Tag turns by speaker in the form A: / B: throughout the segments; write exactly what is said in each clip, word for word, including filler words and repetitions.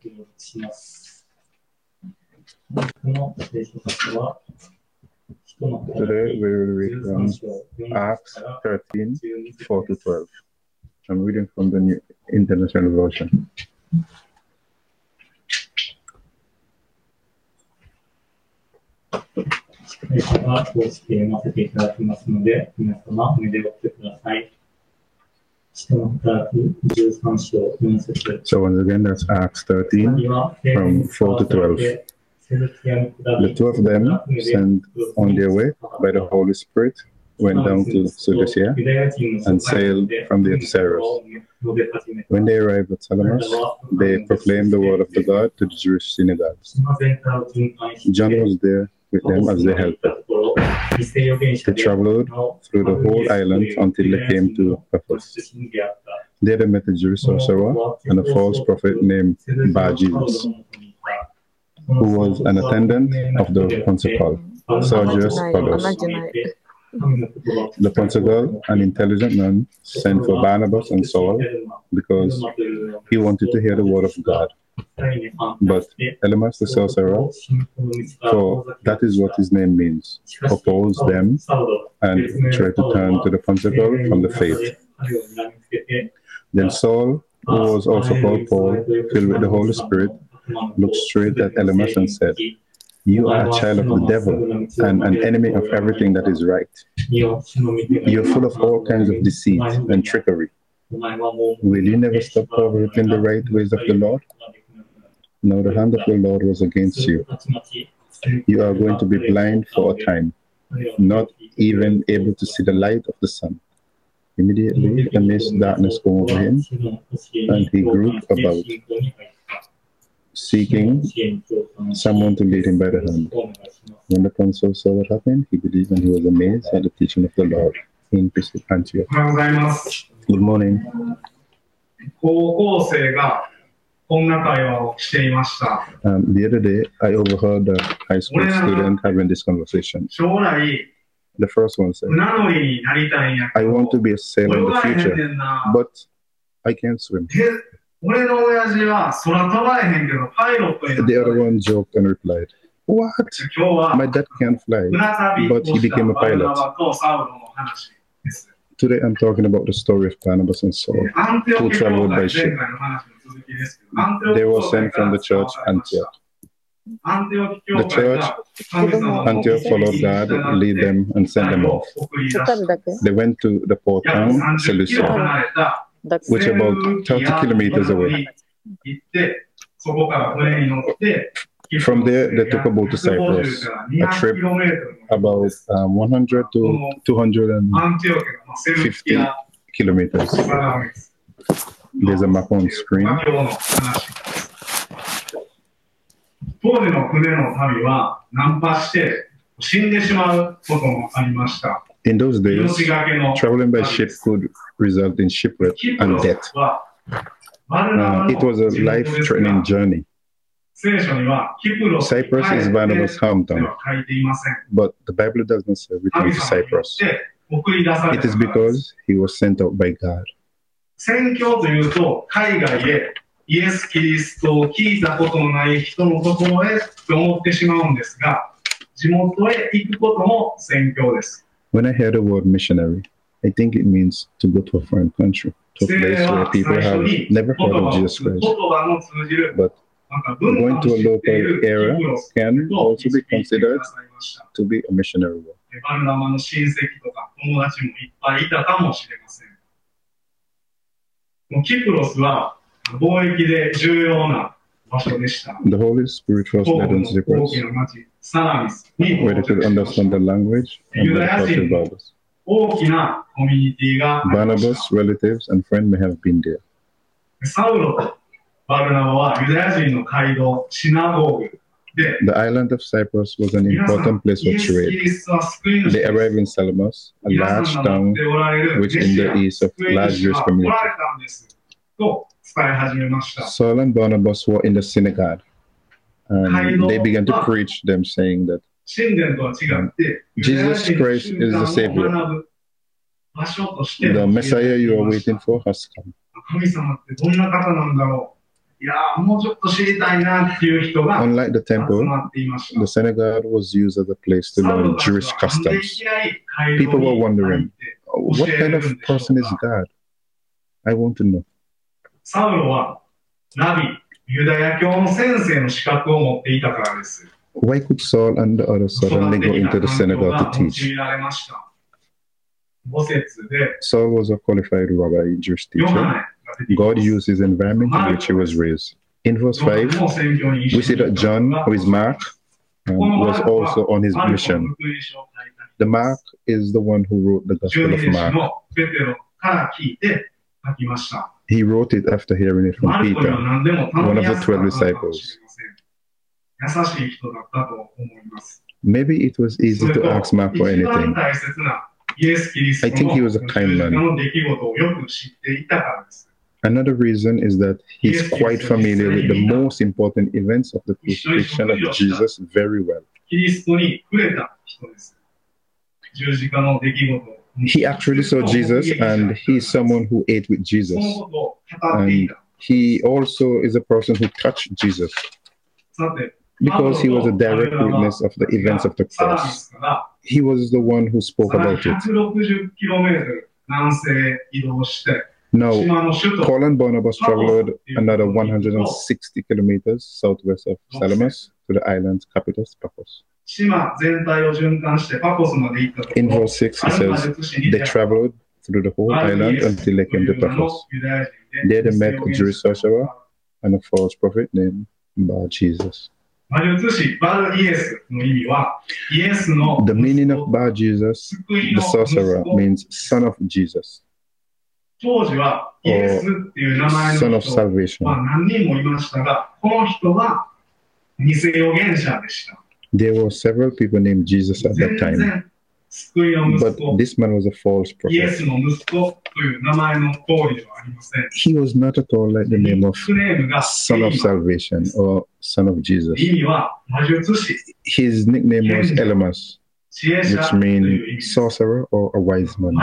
A: します。この聖書箇所は、
B: Today we will read from Acts thirteen, four to twelve. I'm reading from the New International Version.
A: 聖書が通して読ませていただきますので、皆様、お目でおってください。使徒の働きじゅうさん章よん節。
B: So once again, that's Acts thirteen, from four to twelve. The two of them, sent on their way by the Holy Spirit, went down to Seleucia and sailed from there to Cyprus. When they arrived at Salamis, they proclaimed the word of the God to the Jewish synagogues. John was there with them as they helped them. They traveled through the whole island until they came to Paphos. There they met a Jewish sorcerer and a false prophet named Bar-Jesus, who was an attendant of the Pontifical, Sergius Paulus. The Pontifical, an intelligent man, sent for Barnabas and Saul because he wanted to hear the word of God. But Elymas the sorcerer, for that is what his name means, opposed them and tried to turn to the Pontifical from the faith. Then Saul, who was also called Paul, filled with the Holy Spirit, looked straight at Elymas and said, "You are a child of the devil and an enemy of everything that is right. You are full of all kinds of deceit and trickery. Will you never stop perverting the right ways of the Lord? Now the hand of the Lord was against you. You are going to be blind for a time, not even able to see the light of the sun." Immediately a mist darkness came over him, and he groped about, seeking someone to lead him by the hand. When the consul saw what happened, he believed and he was amazed at the teaching of the Lord in Antioch. Good morning. Um, the other day, I overheard a high school student having this conversation. The first one said, "I want to be a sailor in the future, but I can't swim." The other one joked and replied, "What? My dad can't fly, but he became a pilot." Today I'm talking about the story of Barnabas and Saul, who traveled by ship. They were sent from the church Antioch. The church Antioch followed God, lead them, and sent them off. They went to the port town, Seleucia, which is about thirty kilometers away. From there, they took a boat to Cyprus, a trip about um, one hundred to two hundred fifty kilometers. There's a map on screen. In those days, traveling by ship could result in shipwreck and death. Uh, it was a life-threatening journey. Cyprus is Barnabas' hometown, but the Bible does not say return to Cyprus. It is because he was sent out by God. 宣教というと、海外へイエス・キリストを聞いたことのない人のところへと思ってしまうんですが、地元へ行くことも宣教です。When I hear the word missionary, I think it means to go to a foreign country, to a place where people have never heard of Jesus Christ. But going to a local area can also be considered to be a missionary work. The Holy Spirit first led on Cyprus, where they could understand the language and the culture of others. Barnabas' relatives and friends may have been there. The island of Cyprus was an important place for trade. They arrived in Salamis, a large town which in the east of large Jewish community. Saul and Barnabas were in the synagogue, and they began to preach them, saying that um, Jesus Christ is the Savior. The Messiah you are waiting for has come. Unlike the temple, the synagogue was used as a place to learn Jewish customs. People were wondering, what kind of person is God? I want to know.
C: サウロはラビ、ユダヤ教の先生の資格を持っていたからです。
B: Why could Saul and the others suddenly go into the synagogue to teach? Saul was a qualified rabbi, Jewish teacher. God used his environment in which he was raised. In verse five, we see that John, who is Mark, um, was also on his mission. The Mark is the one who wrote the Gospel of Mark. He wrote it after hearing it from Peter, one of the twelve disciples. Maybe it was easy to ask Mark for anything. I think he was a kind man. Another reason is that he's quite familiar with the most important events of the crucifixion of Jesus very well. He actually saw Jesus, and he's someone who ate with Jesus. And he also is a person who touched Jesus, because he was a direct witness of the events of the cross. He was the one who spoke about it. Now, Paul and Barnabas traveled another one hundred sixty kilometers southwest of Salamis to the island's capital, Paphos. In verse six, it says, they traveled through the whole island until they came to Paphos. There they met a Jewish sorcerer and a false prophet named Bar Jesus. The meaning of Bar Jesus, the sorcerer, means son of Jesus, or son of salvation. There were several people named Jesus at that time, but this man was a false prophet. He was not at all like the name of Son of Salvation or Son of Jesus. His nickname was Elymas, which means sorcerer or a wise man.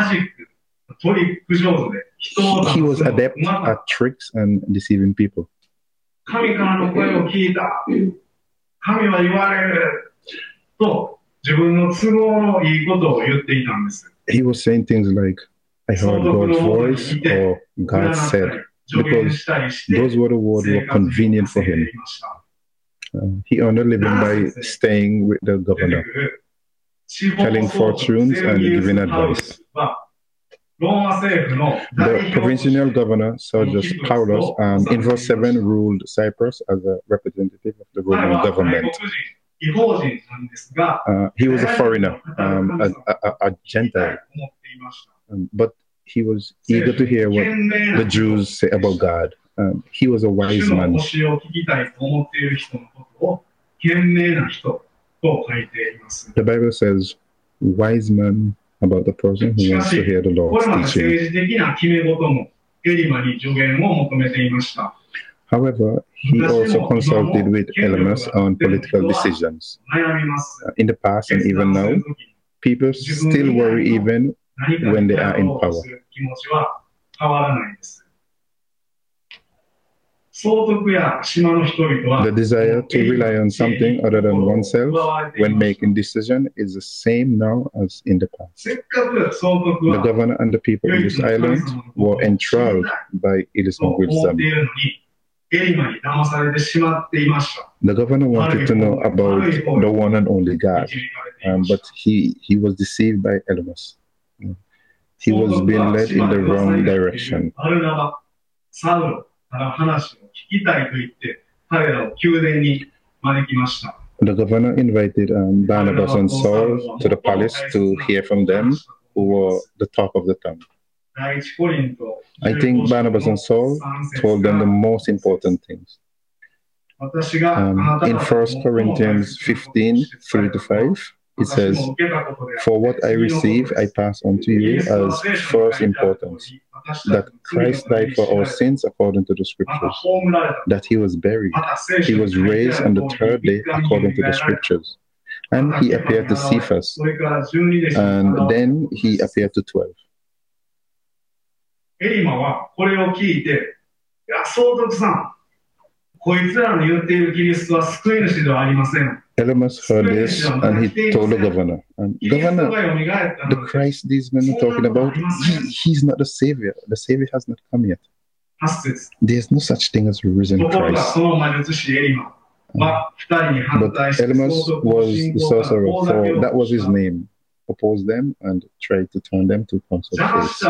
B: He was adept at tricks and deceiving people. He was saying things like, I heard God's voice or God said, because those were the words that were convenient for him. Uh, he earned a living by staying with the governor, telling fortunes and giving advice. The provincial governor, Sergius Paulus, um, in verse seven ruled Cyprus as a representative of the Roman government. Uh, he was a foreigner, um, a, a, a Gentile, um, but he was eager to hear what the Jews say about God. Um, he was a wise man. The Bible says, wise man about the person who wants to hear the Lord's teaching. However, he also consulted with Elymas on political decisions. Uh, in the past and even now, people still worry even when they are in power. The desire to rely on something other than oneself when making decisions is the same now as in the past. The governor and the people in this island were enthralled by Elymas' wisdom. The governor wanted to know about the one and only God, um, but he, he was deceived by Elymas. He was being led in the wrong direction. The governor invited um, Barnabas and Saul to the palace to hear from them, who were the talk of the town. I think Barnabas and Saul told them the most important things. Um, in First Corinthians fifteen, three to five, it says, for what I receive, I pass on to you as first importance, that Christ died for our sins according to the scriptures, that he was buried, he was raised on the third day according to the scriptures, and he appeared to Cephas, and then he appeared to twelve.
C: こいつらの言っているキリストは救い主ではありません。
B: Elymas heard this and he told the governor, and governor, the Christ these men are talking about, he, he's not the savior. The savior has not come yet. There's no such thing as a risen Christ. But Elymas was the sorcerer, so that was his name. Opposed them and tried to turn them to consult faith.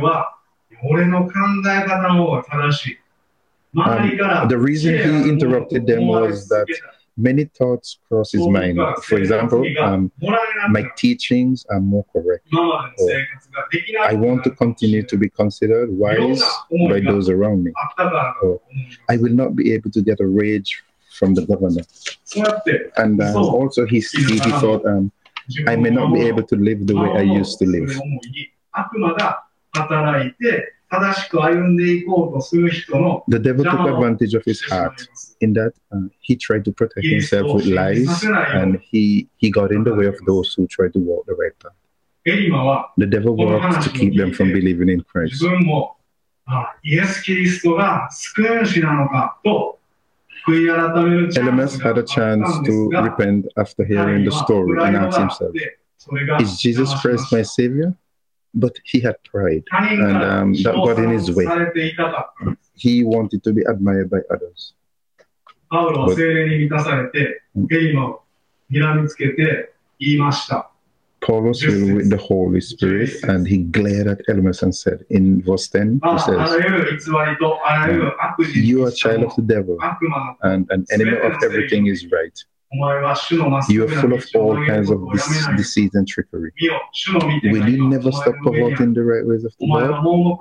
B: Um, the reason he interrupted them was that many thoughts crossed his mind. For example, um, my teachings are more correct. Or, I want to continue to be considered wise by those around me. Or, I will not be able to get a wage from the governor. And um, also he, he, he thought, um, I may not be able to live the way I used to live. The devil took advantage of his heart in that uh, he tried to protect himself with lies, and he, he got in the way of those who tried to walk the right path. The devil worked to keep them from believing in Christ. Elymas had a chance to repent after hearing the story and ask himself, is Jesus Christ my Savior? But he had pride, and um, that got in his way. He wanted to be admired by others. But, Paul was filled with the Holy Spirit, and he glared at Elymas and said, in verse ten, he says, you are a child of the devil, and an enemy of everything is right. You are full of all kinds of dece deceit and trickery. Will you never stop perverting the right ways of the Lord?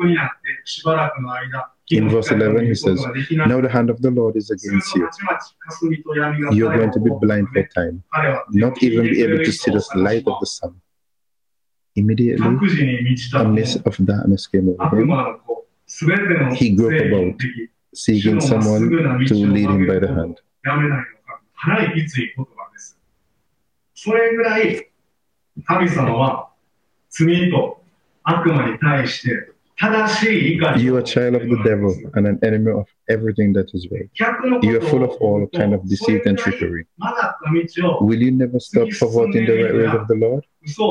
B: In verse eleven, he says, now the hand of the Lord is against you. You are going to be blind for time, not even be able to see the light of the sun. Immediately, a mist of darkness came over him. He groped about, seeking someone to lead him by the hand. You are a child of the devil and an enemy of everything that is right. You are full of all kind of deceit and trickery. Will you never stop perverting the right ways of the Lord?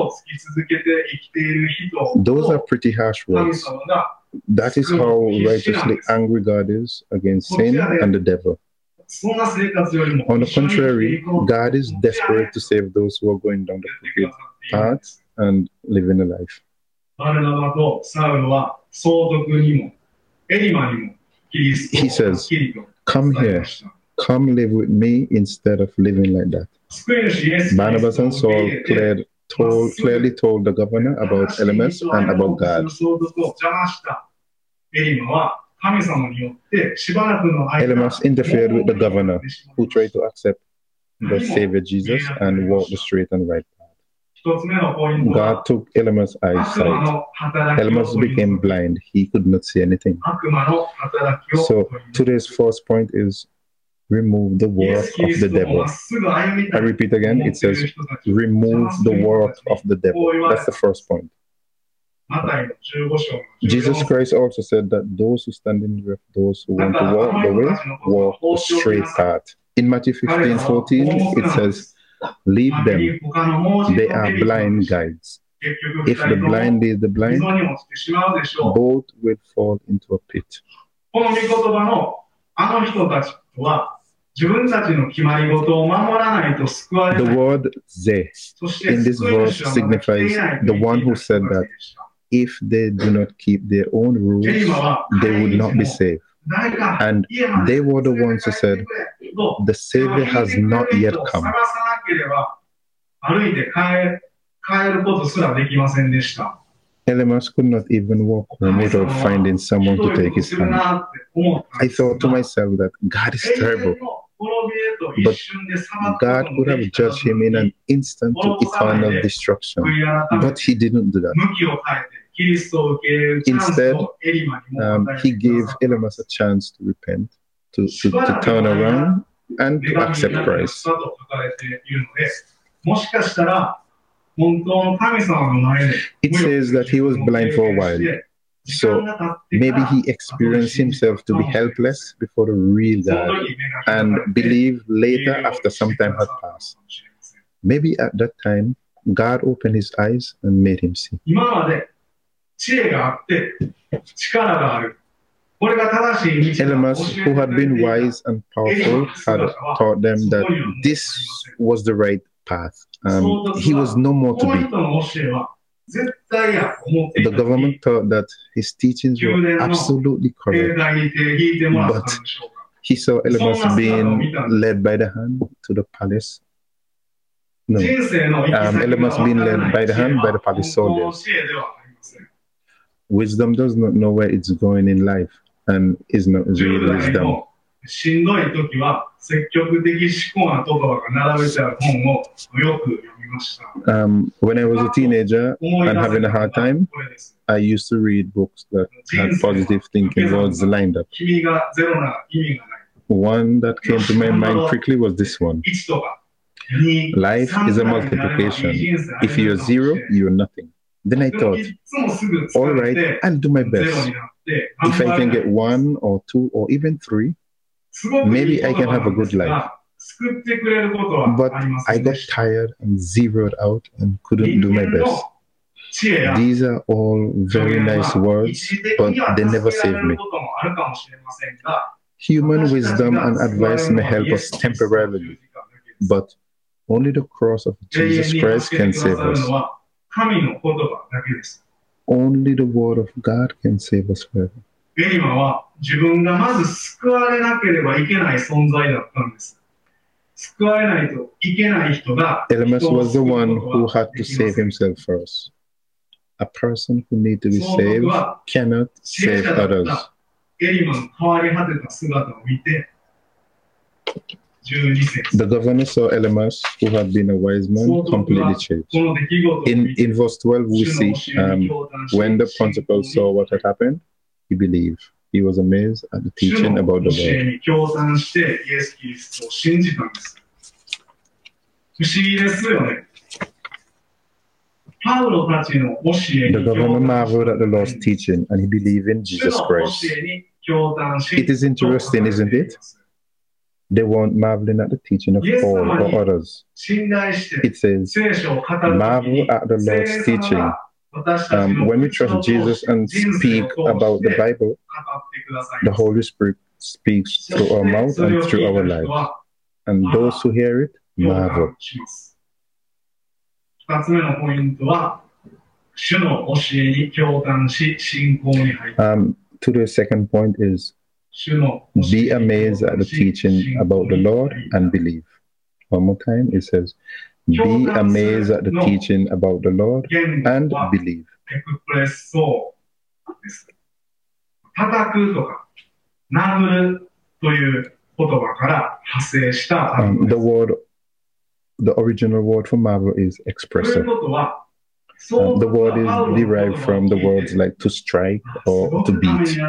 B: Those are pretty harsh words. That is how righteously angry God is against sin and the devil. On the contrary, God is desperate to save those who are going down the crooked path and living a life. He says, come here, come live with me instead of living like that. Barnabas and Saul cleared, told, clearly told the governor about Elymas and about God. Elymas interfered with the governor, who tried to accept the Savior Jesus and walk the straight and right path. God took Elymas' eyesight. Elymas became blind. He could not see anything. So today's first point is remove the work of the devil. I repeat again, it says remove the work of the devil. That's the first point. Jesus Christ also said that those who stand in the way of those who want to walk the way, walk the straight path. In Matthew fifteen fourteen, it says, leave them, they are blind guides. If the blind lead the blind, both will fall into a pit. The word ze in this verse signifies the one who said that if they do not keep their own rules, they would not be saved. And they were the ones who said, the Savior has not yet come. Elymas could not even walk home without finding someone to take his hand. I thought to myself that God is terrible, but God could have judged him in an instant to eternal destruction, but he didn't do that. Instead, um, he gave Elymas a chance to repent, to, to, to turn around and to accept Christ. It says that he was blind for a while. So maybe he experienced himself to be helpless before the real God and believed later after some time had passed. Maybe at that time, God opened his eyes and made him see. Elymas, who had been wise and powerful, had taught them that this was the right path. Um, he was no more to be. The government thought that his teachings were absolutely correct, but he saw Elymas being led by the hand to the palace. No, um, Elymas being led by the hand by the palace soldiers. Wisdom does not know where it's going in life and is not real wisdom. Um, when I was a teenager and having a hard time, I used to read books that had positive thinking words lined up. One that came to my mind quickly was this one. Life is a multiplication. If you're zero, you're nothing. Then I thought, all right, I'll do my best. If I can get one or two or even three, maybe I can have a good life. But I got tired and zeroed out and couldn't do my best. These are all very nice words, but they never saved me. Human wisdom and advice may help us temporarily, but only the cross of Jesus Christ can save us. Only the word of God can save us forever. Elymas was the one who had to save himself first. A person who needs to be saved cannot save others. The governor saw Elymas, who had been a wise man, completely changed. In, in verse twelve, we see um, when the principal saw what had happened, he believed. He was amazed at the teaching about the Lord. The governor marveled at the Lord's teaching and he believed in Jesus Christ. It is interesting, isn't it? They weren't marveling at the teaching of Paul or others. It says, marvel at the Lord's teaching. Um, when we trust Jesus and speak about the Bible, the Holy Spirit speaks through our mouth and through our lives. And those who hear it, marvel. Um, to the second point is, be amazed at the teaching about the Lord and believe. One more time, it says, be amazed at the teaching about the Lord and believe. Um, the word, the original word for marvel is expressive. Um, the word is derived from the words like to strike or to beat.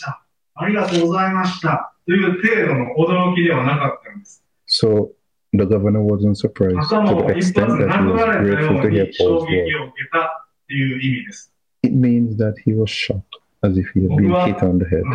B: So the governor wasn't surprised to the extent that he was grateful to hear Paul's word. It means that he was shocked, as if he had been hit on the head.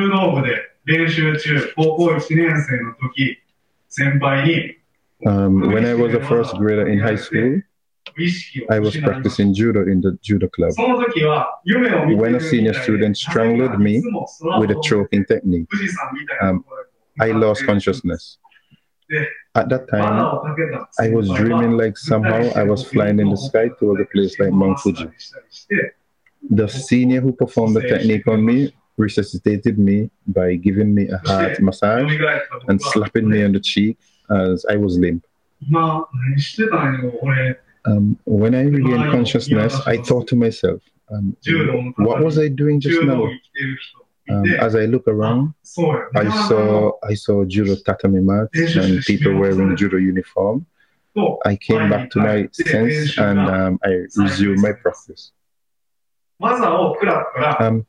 B: Um, when I was a first grader in high school, I was practicing judo in the judo club. When a senior student strangled me with a choking technique, um, I lost consciousness. At that time, I was dreaming like somehow I was flying in the sky towards a place like Mount Fuji. The senior who performed the technique on me resuscitated me by giving me a heart massage and slapping me on the cheek as I was limp. Um, when I regained consciousness, I thought to myself, um, what was I doing just now? Um, as I look around, I saw I saw judo tatami mats and people wearing judo uniform. I came back to my sense and um, I resumed my practice. Um,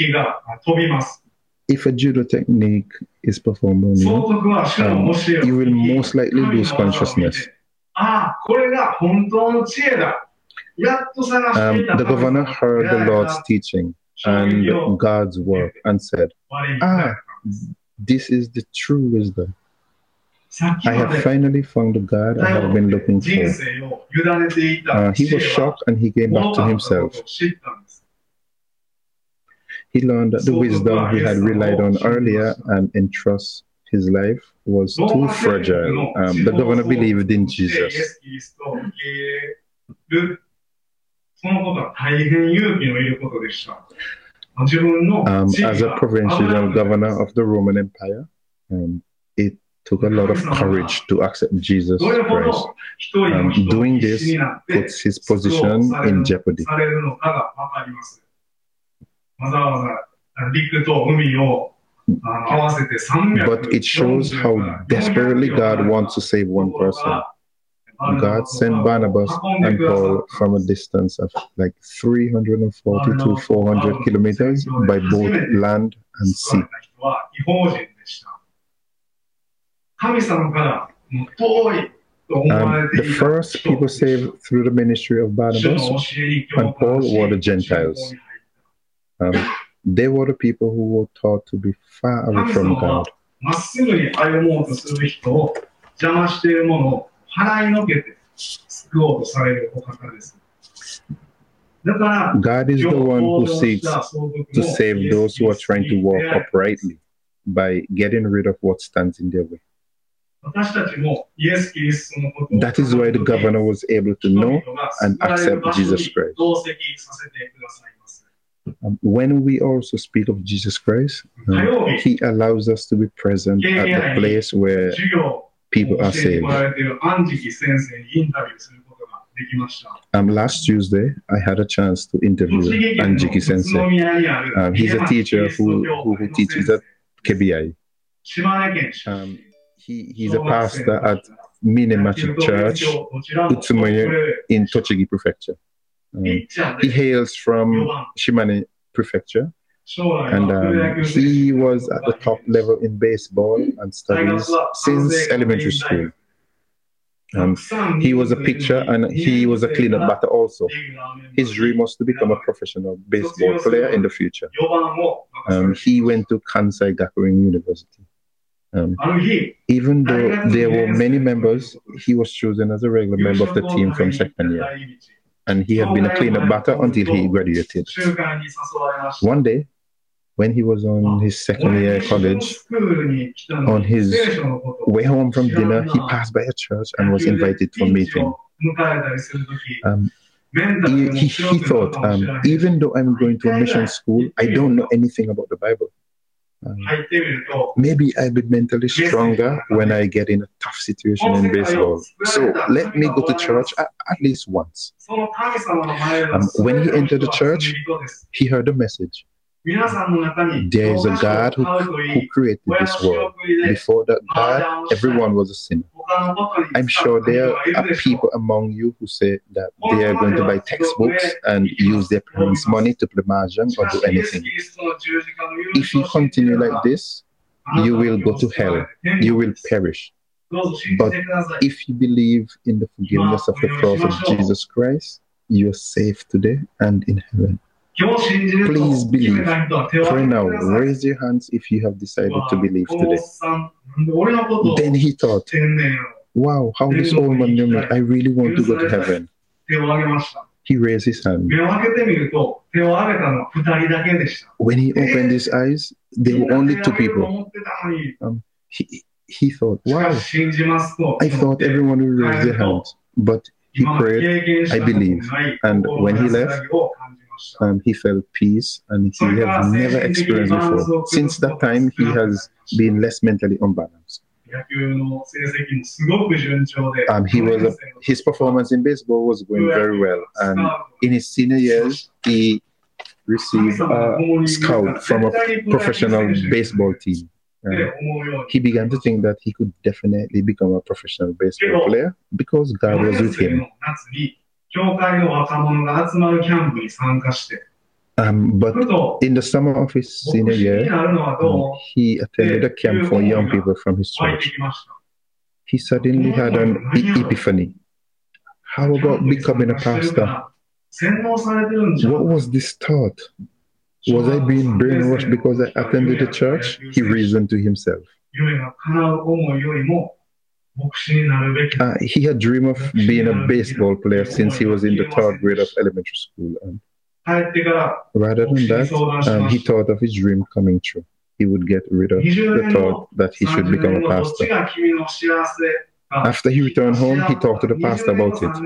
B: if a judo technique is performed on you, um, you will most likely lose consciousness. Um, the governor heard the Lord's teaching and God's work and said, ah, this is the true wisdom. I have finally found the God I have been looking for. Uh, he was shocked and he came back to himself. He learned that the wisdom he had relied on earlier and entrust his life was too fragile. Um, the governor believed in Jesus. Um, as a provincial governor of the Roman Empire, um, it took a lot of courage to accept Jesus Christ. Um, doing this puts his position in jeopardy. But it shows how desperately God wants to save one person. God sent Barnabas and Paul from a distance of like three hundred forty to four hundred kilometers by both land and sea. Um, the first people saved through the ministry of Barnabas and Paul were the Gentiles. Um, they were the people who were thought to be far away from God. God is the one who seeks to save those who are trying to walk uprightly by getting rid of what stands in their way. That is why the governor was able to know and accept Jesus Christ. Um, when we also speak of Jesus Christ, um, he allows us to be present at the place where people are saved. Um, last Tuesday, I had a chance to interview Anjiki Sensei. Um, he's a teacher who, who, who teaches at K B I. Um, he, he's a pastor at Minemachi Church, Utsumoye in Tochigi Prefecture. Um, he hails from Shimane Prefecture, and um, he was at the top level in baseball and studies since elementary school. Um, he was a pitcher and he was a cleanup batter also. His dream was to become a professional baseball player in the future. Um, he went to Kansai Gakuin University. Um, even though there were many members, he was chosen as a regular member of the team from second year. And he had been a cleanup batter until he graduated. One day, when he was on his second year at college, on his way home from dinner, he passed by a church and was invited to a meeting. Um, he, he, he thought, um, even though I'm going to a mission school, I don't know anything about the Bible. Um, maybe I'll be mentally stronger when I get in a tough situation in baseball. So let me go to church at, at least once. Um, when he entered the church, he heard a message. There is a God who, who created this world. Before that God, everyone was a sinner. I'm sure there are people among you who say that they are going to buy textbooks and use their parents' money to play mahjong or do anything. If you continue like this, you will go to hell. You will perish. But if you believe in the forgiveness of the cross of Jesus Christ, you are safe today and in heaven. Please believe. Pray now. Raise your hands if you have decided to believe today. Then he thought, wow, how this old man knew me. I really want to go to heaven. He raised his hand. When he opened his eyes, there were only two people. Um, he, he thought, wow, I thought everyone would raise their hands. But he prayed, I believe. And when he left, Um, he felt peace, and he has never experienced before. Since that time, he has been less mentally unbalanced. Um, he was a, his performance in baseball was going very well, and in his senior years, he received a scout from a professional baseball team. Um, he began to think that he could definitely become a professional baseball player because God was with him. Um, but in the summer of his senior year, um, he attended a camp for young people from his church. He suddenly had an e- epiphany. How about becoming a pastor? What was this thought? Was I being brainwashed because I attended the church? He reasoned to himself. Uh, he had dreamed of being a baseball player since he was in the third grade of elementary school. And rather than that, um, he thought of his dream coming true. He would get rid of the thought that he should become a pastor. After he returned home, he talked to the pastor about it.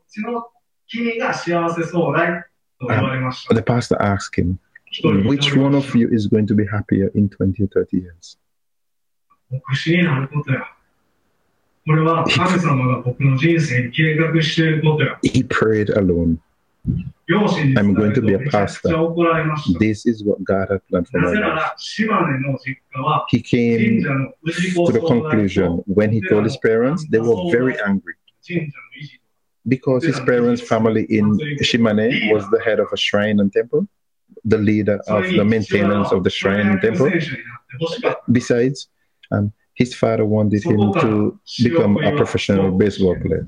B: Um, the pastor asked him, which one of you is going to be happier in twenty or thirty years? He, he prayed alone. I'm going to be a pastor. This is what God had planned for my life. He came to the conclusion when he told his parents, they were very angry. Because his parents' family in Shimane was the head of a shrine and temple, the leader of the maintenance of the shrine and temple. Besides, um, his father wanted him to become a professional baseball player.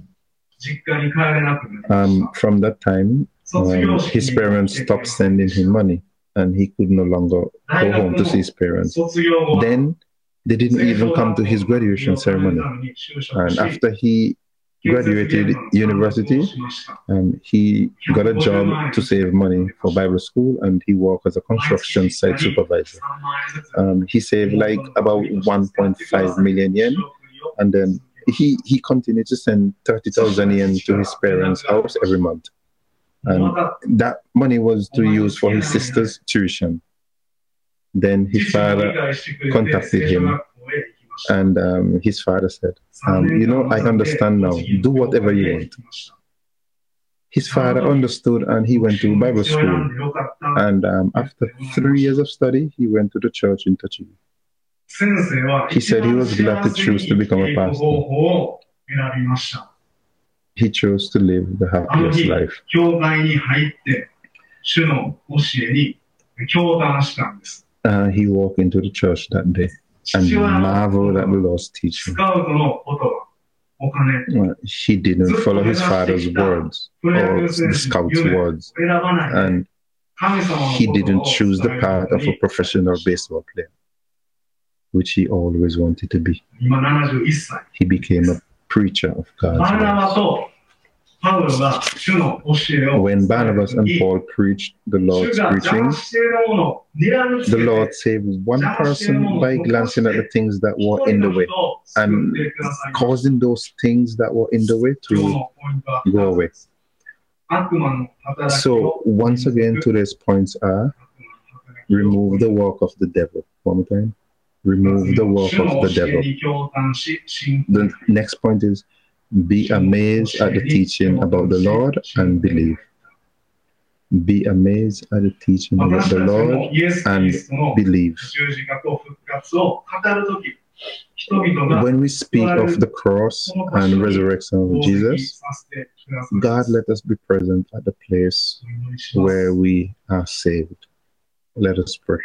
B: Um, from that time, um, his parents stopped sending him money, and he could no longer go home to see his parents. Then, they didn't even come to his graduation ceremony. And after he graduated university, and he got a job to save money for Bible school, and he worked as a construction site supervisor. Um, he saved like about one point five million yen, and then he, he continued to send thirty thousand yen to his parents' house every month. And that money was to use for his sister's tuition. Then his father contacted him, and um, his father said, um, you know, I understand now. Do whatever you want. His father understood, and he went to Bible school. And um, after three years of study, he went to the church in Tochigi. He said he was glad to choose to become a pastor. He chose to live the happiest life. Uh, he walked into the church that day and marveled at the Lord's teaching. Well, he didn't follow his father's words or the scout's words, and he didn't choose the path of a professional baseball player, which he always wanted to be. He became a preacher of God's word. When Barnabas and Paul preached the Lord's preaching, the Lord saved one person by glancing at the things that were in the way and causing those things that were in the way to go away. So once again, today's points are: remove the work of the devil. One more time. Remove the work of the devil. The next point is: be amazed at the teaching about the Lord and believe. Be amazed at the teaching about the Lord and believe. When we speak of the cross and resurrection of Jesus, God let us be present at the place where we are saved. Let us pray.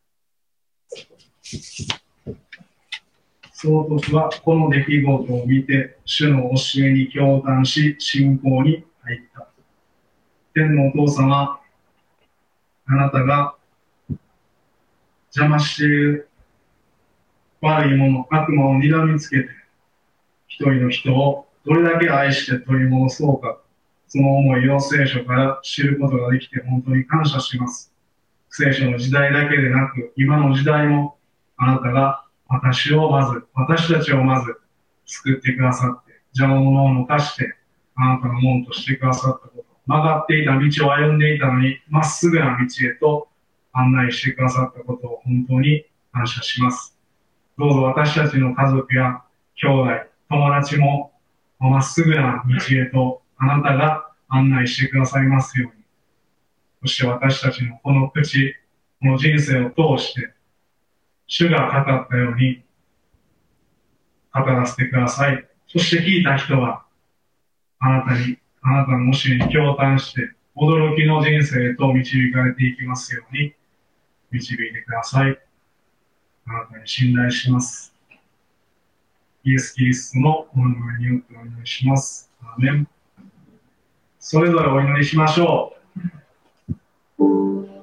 C: その時はこの出来事を見て、主の教えに驚嘆し、信仰に入った。天のお父様、あなたが邪魔している悪いもの、悪魔を睨みつけて、一人の人をどれだけ愛して取り戻そうか、その思いを聖書から知ることができて本当に感謝します。聖書の時代だけでなく、今の時代もあなたが私をまず、私たちをまず救ってくださって、邪魔者を抜かして、あなたのものとしてくださったこと、曲がっていた道を歩んでいたのに、まっすぐな道へと案内してくださったことを本当に感謝します。どうぞ私たちの家族や兄弟、友達もまっすぐな道へとあなたが案内してくださいますように。そして私たちのこの口、この人生を通して、主が語ったように語らせてください。そして聞いた人は、あなたに、あなたの教えに驚嘆して、驚きの人生へと導かれていきますように、導いてください。あなたに信頼します。イエス・キリストのお名前によってお祈りします。アーメン。それぞれお祈りしましょう。